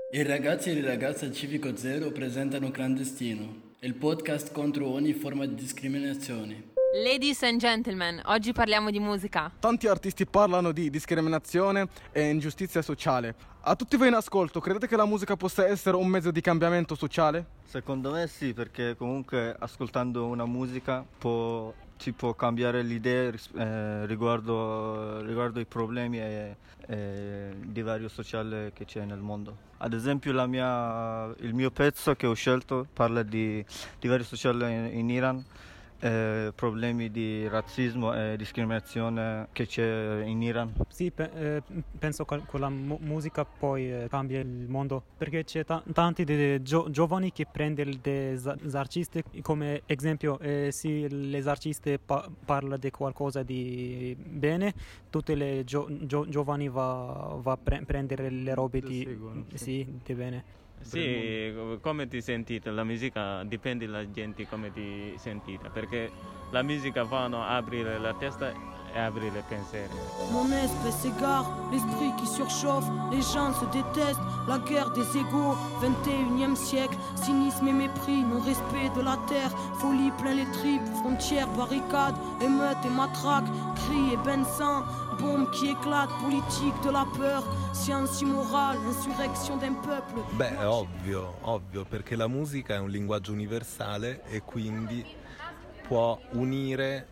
I ragazzi e le ragazze al Civico Zero presentano Clandestino, il podcast contro ogni forma di discriminazione. Ladies and gentlemen, oggi parliamo di musica. Tanti artisti parlano di discriminazione e ingiustizia sociale. A tutti voi in ascolto, credete che la musica possa essere un mezzo di cambiamento sociale? Secondo me sì, perché comunque ascoltando una musica ci può cambiare l'idea riguardo i problemi e divario sociale che c'è nel mondo. Ad esempio il mio pezzo che ho scelto parla di divario sociale in Iran, problemi di razzismo e discriminazione che c'è in Iran. Sì, penso che con la musica poi cambia il mondo, perché c'è tanti giovani che prendono dei artisti come esempio, se l'esartista parla di qualcosa di bene, tutti i giovani va a prendere le robe di bene. Sì, come ti sentite? La musica dipende dalla gente come ti sentite, perché la musica va a aprire la testa e aprire i pensieri. Mon esprit s'égare, l'esprit qui surchauffe, les gens se détestent, la guerre des égaux, 21e siècle, cynisme et mépris, non-respect de la terre, folie plein les tripes, frontières, barricades, émeutes et matraques, cris et bains de sang, bombes qui éclatent, politique de la peur, science immorale, insurrection d'un peuple. Beh, è ovvio, perché la musica è un linguaggio universale e quindi può unire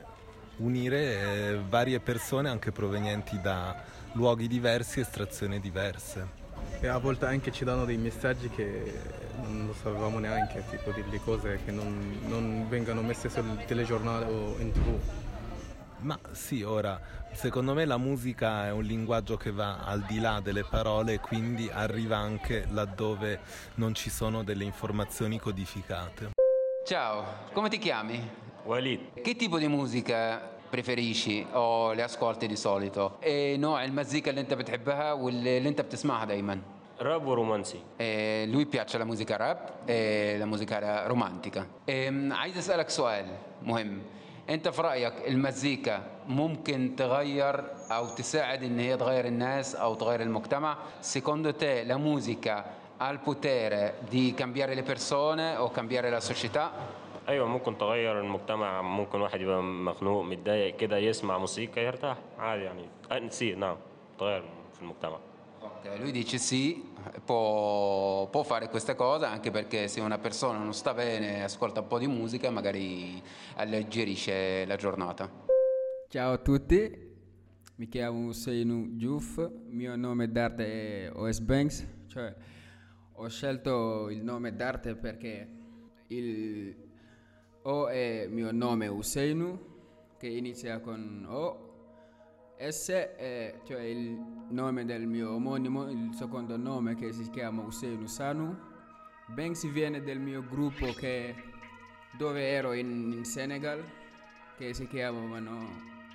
varie persone anche provenienti da luoghi diversi, estrazioni diverse. E a volte anche ci danno dei messaggi che non lo sapevamo neanche, tipo delle cose che non vengano messe sul telegiornale o in TV. Ma sì, ora, secondo me la musica è un linguaggio che va al di là delle parole e quindi arriva anche laddove non ci sono delle informazioni codificate. Ciao, come ti chiami? Walid. Che tipo di musica preferisci o le ascolti di solito؟ نوع المزيكا اللي انت بتحبها واللي انت بتسمعها دايما؟ راب ورومانسي. lui piace la musica rap e la musica romantica. عايز اسالك سؤال مهم. انت في رايك المزيكا ممكن تغير او تساعد ان هي تغير الناس او تغير المجتمع؟ secondo te la musica ha il potere di cambiare le persone o cambiare la società؟ ايوه ممكن تغير المجتمع. ممكن واحد يبقى مخنوق متضايق كده يسمع موسيقى يرتاح عادي يعني. sì, no, تغير في المجتمع. Ok, lui dice sì, può fare questa cosa anche perché se una persona non sta bene ascolta un po' di musica magari alleggerisce la giornata. Ciao a tutti, mi chiamo Ousseynou Diouf, mio nome d'arte è OS Banks, cioè ho scelto il nome d'arte perché il O è mio nome Ousseynou, che inizia con O, S è cioè il nome del mio omonimo, il secondo nome che si chiama Ousseynou Sanu. Banks viene del mio gruppo dove ero in Senegal, che si chiamano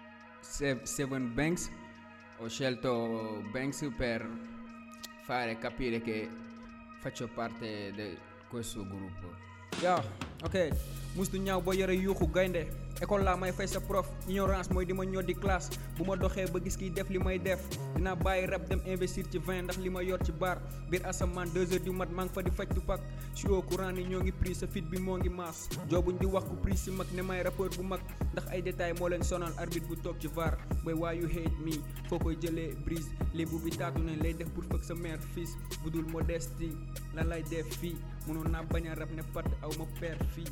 Seven Banks. Ho scelto Banks per fare capire che faccio parte di questo gruppo. yaa ok mustu ñaaw ba yore yuuxu gaynde école laa may fay sa prof ignorance mooy di ma ñoo di classe bu ma doxee ba gis kiy def li may def dinaa bàyyi rap dem investir ci vin ndax li ma yor ci bar biir asamaan 2 heures du mat maa ngi fa di faj tu pak si au courant ni ñoo ngi pris sa fit bi moo ngi maas joobuñ di wax ku pris si mag ne may rappeur bu mag ndax ay détails moo leen sonal arbitre bu toog ci var boy why you hate me foo koy jëlee brise lébu bi taatu nañ lay def pour fëgg sa mère fils bu dul modestie lan lay def fii mënoon naa bañ a rap ne pat aw ma père fii.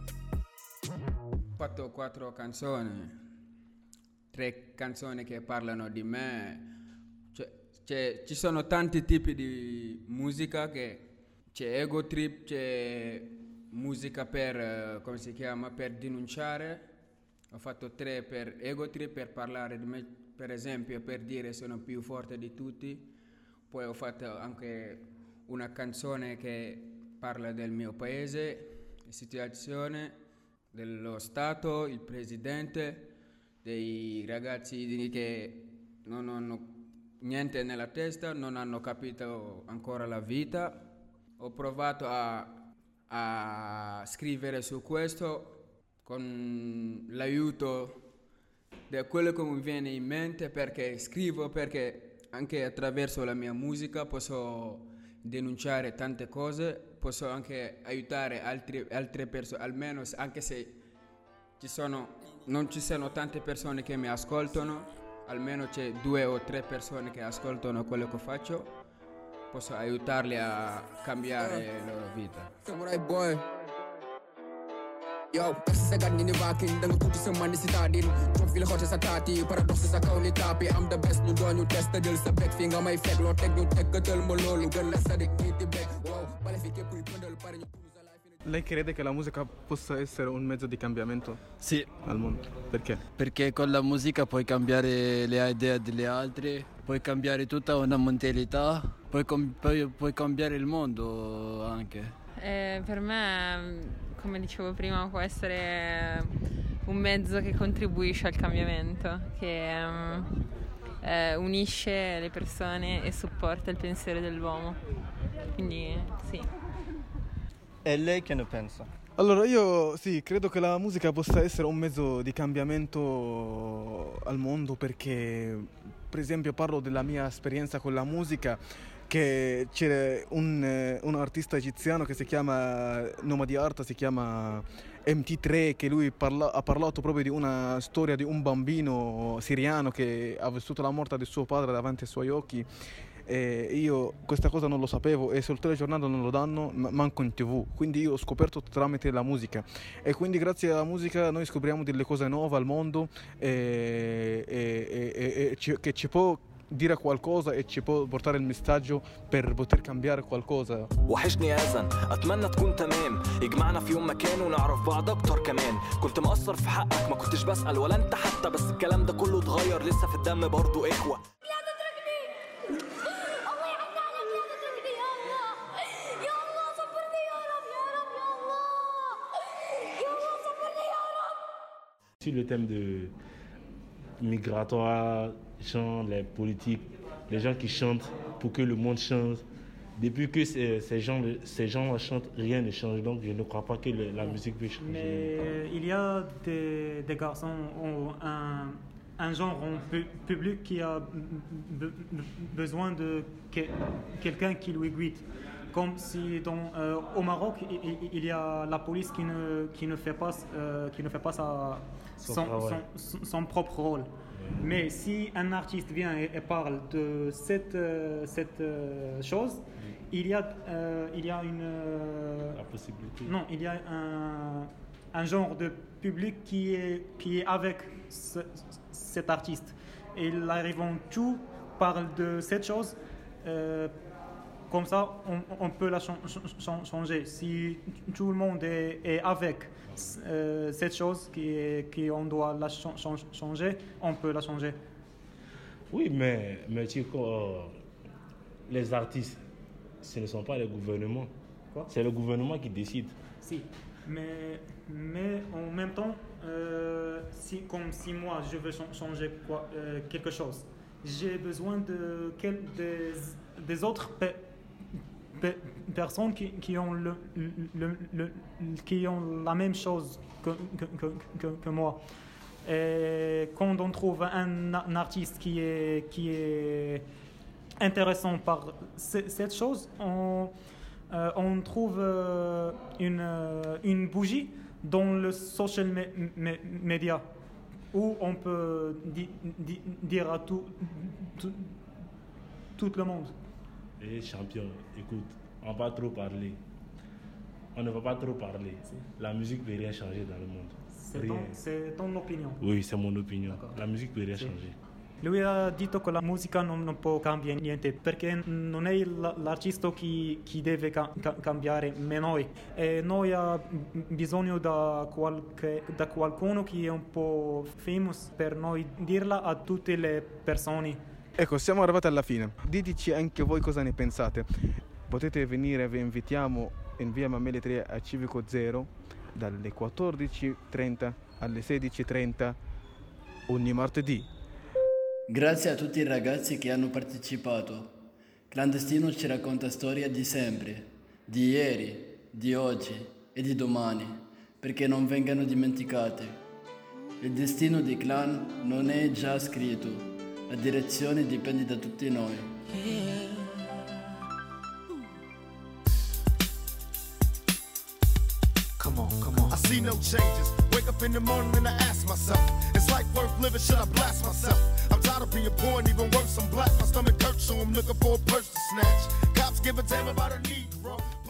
Ho fatto 4 canzoni, 3 canzoni che parlano di me, ci sono tanti tipi di musica, che c'è ego trip, c'è musica per, come si chiama, per denunciare. Ho fatto 3 per ego trip, per parlare di me, per esempio, per dire sono più forte di tutti. Poi ho fatto anche una canzone che parla del mio paese, la situazione dello Stato, il presidente, dei ragazzi che non hanno niente nella testa, non hanno capito ancora la vita. Ho provato a scrivere su questo con l'aiuto di quello che mi viene in mente, perché scrivo perché anche attraverso la mia musica posso denunciare tante cose, posso anche aiutare altre persone, almeno anche se non ci sono tante persone che mi ascoltano, almeno c'è 2 o 3 persone che ascoltano quello che faccio, posso aiutarli a cambiare la loro vita. Samurai boy. Yo, kasi sa ganin ni Vakin, dang puti sa mani si Tadin. Trump feel hot sa tati, paradox sa kauli tapi. I'm the best, no doon yung test deal sa back finger may fake. Lo tek yung tek katal mo lolo, gan la sa dik niti back. Wow, palifike pui pandal pare nyo. Lei crede che la musica possa essere un mezzo di cambiamento? Sì. Al mondo? Perché? Perché con la musica puoi cambiare le idee delle altre, puoi cambiare tutta una mentalità, puoi cambiare il mondo anche. Per me, come dicevo prima, può essere un mezzo che contribuisce al cambiamento, che unisce le persone e supporta il pensiero dell'uomo. Quindi sì. E lei che ne pensa? Allora io sì, credo che la musica possa essere un mezzo di cambiamento al mondo perché, per esempio, parlo della mia esperienza con la musica, che c'è un artista egiziano che si chiama nome di arte, si chiama MT3, che lui ha parlato proprio di una storia di un bambino siriano che ha vissuto la morte di suo padre davanti ai suoi occhi. E io questa cosa non lo sapevo e sul telegiornale non lo danno manco in TV, quindi io ho scoperto tramite la musica e quindi grazie alla musica noi scopriamo delle cose nuove al mondo che ci può dire qualcosa e ci può portare il messaggio per poter cambiare qualcosa. وحشني يا أذن أتمنى تكون تمام يجمعنا في يوم مكان ونعرف بعض أكتر كمان كنت مقصر في حقك ما كنتش بسأل ولا أنت حتى بس الكلام ده كله اتغير لسه في الدم برضو إخوة. Sur le thème de migratoire, genre les politiques, les gens qui chantent pour que le monde change. Depuis que ces gens chantent, rien ne change. Donc je ne crois pas que la musique peut changer. Mais il y a des garçons ou un genre public qui a besoin de quelqu'un qui lui guide. Comme si au Maroc, il y a la police qui ne fait pas son propre rôle. Mais si un artiste vient et parle de cette chose, il y a une... La possibilité. Non, il y a un genre de public qui est avec cet artiste. Et ils arrivent tout parle de cette chose. Comme ça, on peut la changer. Si tout le monde est avec cette chose qu'on doit la changer, on peut la changer. Oui, mais Chico, les artistes, ce ne sont pas les gouvernements. Quoi? C'est le gouvernement qui décide. Si, mais en même temps, comme si moi je veux changer quelque chose, j'ai besoin des autres personnes qui ont qui ont la même chose que moi. Et quand on trouve un artiste qui est intéressant par cette chose, on trouve une bougie dans le social media où on peut dire à tout le monde. Et champion, écoute, on va trop parler. On ne va pas trop parler. La musique ne peut rien changer dans le monde. C'est ton opinion? Oui, c'est mon opinion. La musique ne peut rien changer. Lui ha detto che la musica non può cambiare niente perché non è l'artista chi deve cambiare, ma noi. E noi abbiamo bisogno da qualcuno che è un po' famous per noi dirla a tutte le persone. Ecco, siamo arrivati alla fine. Diteci anche voi cosa ne pensate. Potete venire, vi invitiamo in via Mameli 3 a Civico Zero dalle 14:30 alle 16:30 ogni martedì. Grazie a tutti i ragazzi che hanno partecipato. Clandestino ci racconta storie di sempre, di ieri, di oggi e di domani, perché non vengano dimenticate. Il destino di Clan non è già scritto. La direzione dipende da tutti noi. Come on. I see no changes. Wake up in the morning and I ask myself, is life worth living? Should I blast myself? I'm tired of being poor and even worse, I'm black. My stomach hurts, so I'm looking for a purse to snatch. Cops give a damn about a Negro.